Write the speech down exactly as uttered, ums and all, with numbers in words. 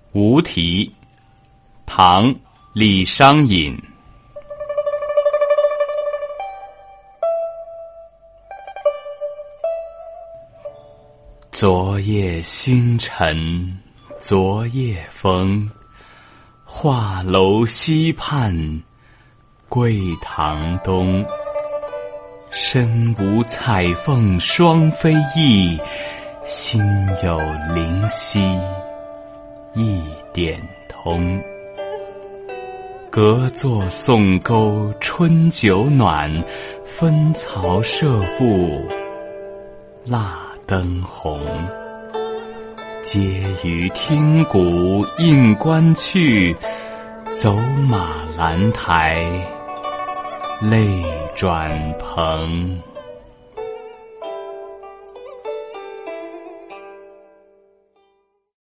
无题，唐·李商隐。昨夜星辰，昨夜风，画楼西畔，桂堂东。身无彩凤双飞翼，心有灵犀一点通。隔座送钩春酒暖，分曹射覆蜡灯红。皆于听鼓应官去，走马兰台泪转蓬。